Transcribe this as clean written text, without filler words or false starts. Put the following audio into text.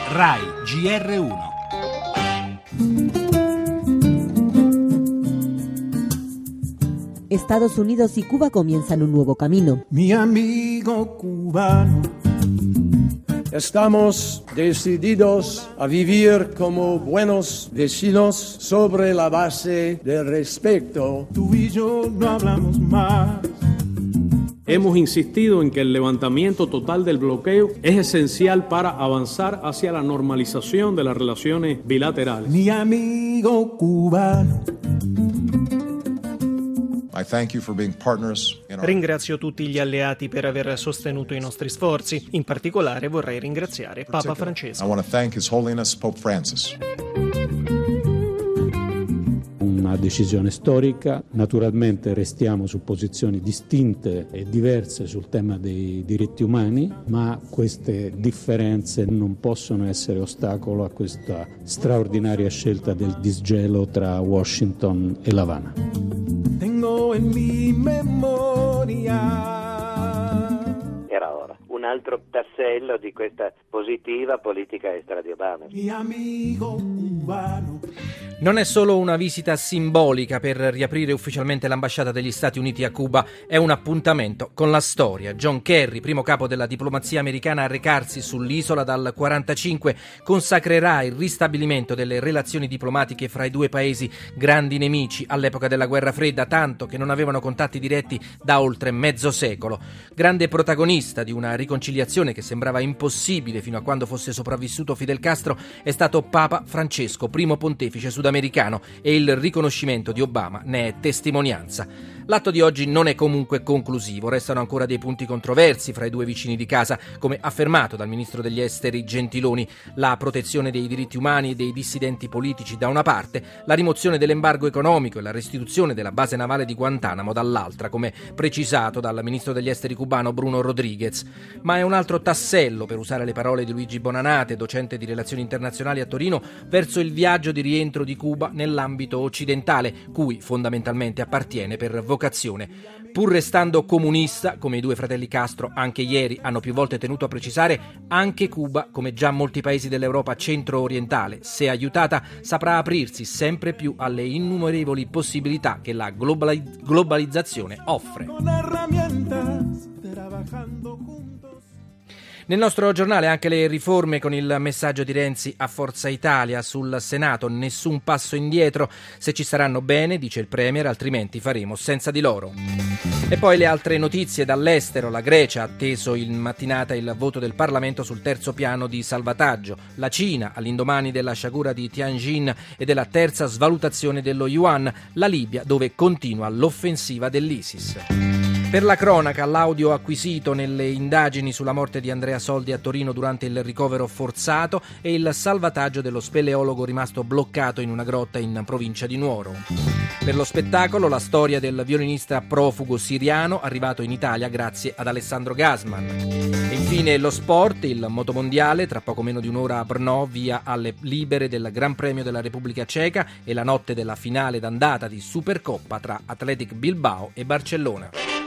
RAI GR1. Estados Unidos y Cuba comienzan un nuevo camino. Mi amigo cubano, estamos decididos a vivir como buenos vecinos sobre la base del respeto. Tú y yo no hablamos más. Hemos insistido en que el levantamiento total del bloqueo es esencial para avanzar hacia la normalización de las relaciones bilaterales. Mi amigo cubano. Ringrazio tutti gli alleati per aver sostenuto i nostri sforzi. In particolare vorrei ringraziare Papa Francesco. Una decisione storica, naturalmente restiamo su posizioni distinte e diverse sul tema dei diritti umani, ma queste differenze non possono essere ostacolo a questa straordinaria scelta del disgelo tra Washington e L'Avana. Tengo en mi memoria. Era ora un altro tassello di questa positiva politica estera di Obama. Mi amigo cubano. Non è solo una visita simbolica per riaprire ufficialmente l'ambasciata degli Stati Uniti a Cuba, è un appuntamento con la storia. John Kerry, primo capo della diplomazia americana a recarsi sull'isola dal 1945, consacrerà il ristabilimento delle relazioni diplomatiche fra i due paesi, grandi nemici all'epoca della Guerra Fredda, tanto che non avevano contatti diretti da oltre mezzo secolo. Grande protagonista di una riconciliazione che sembrava impossibile fino a quando fosse sopravvissuto Fidel Castro è stato Papa Francesco, primo pontefice sudamericano, e il riconoscimento di Obama ne è testimonianza. L'atto di oggi non è comunque conclusivo, restano ancora dei punti controversi fra i due vicini di casa, come affermato dal ministro degli esteri Gentiloni: la protezione dei diritti umani e dei dissidenti politici da una parte, la rimozione dell'embargo economico e la restituzione della base navale di Guantanamo dall'altra, come precisato dal ministro degli esteri cubano Bruno Rodriguez. Ma è un altro tassello, per usare le parole di Luigi Bonanate, docente di relazioni internazionali a Torino, verso il viaggio di rientro di Cuba nell'ambito occidentale, cui fondamentalmente appartiene per vocazione. Pur restando comunista, come i due fratelli Castro anche ieri hanno più volte tenuto a precisare, anche Cuba, come già molti paesi dell'Europa centro-orientale, se aiutata, saprà aprirsi sempre più alle innumerevoli possibilità che la globalizzazione offre. Nel nostro giornale anche le riforme con il messaggio di Renzi a Forza Italia. Sul Senato nessun passo indietro, se ci saranno bene, dice il Premier, altrimenti faremo senza di loro. E poi le altre notizie dall'estero. La Grecia ha atteso in mattinata il voto del Parlamento sul terzo piano di salvataggio. La Cina all'indomani della sciagura di Tianjin e della terza svalutazione dello yuan. La Libia, dove continua l'offensiva dell'ISIS. Per la cronaca, l'audio acquisito nelle indagini sulla morte di Andrea Soldi a Torino durante il ricovero forzato e il salvataggio dello speleologo rimasto bloccato in una grotta in provincia di Nuoro. Per lo spettacolo, la storia del violinista profugo siriano arrivato in Italia grazie ad Alessandro Gasman. E infine lo sport, il motomondiale, tra poco meno di un'ora a Brno, via alle libere del Gran Premio della Repubblica Ceca e la notte della finale d'andata di Supercoppa tra Athletic Bilbao e Barcellona.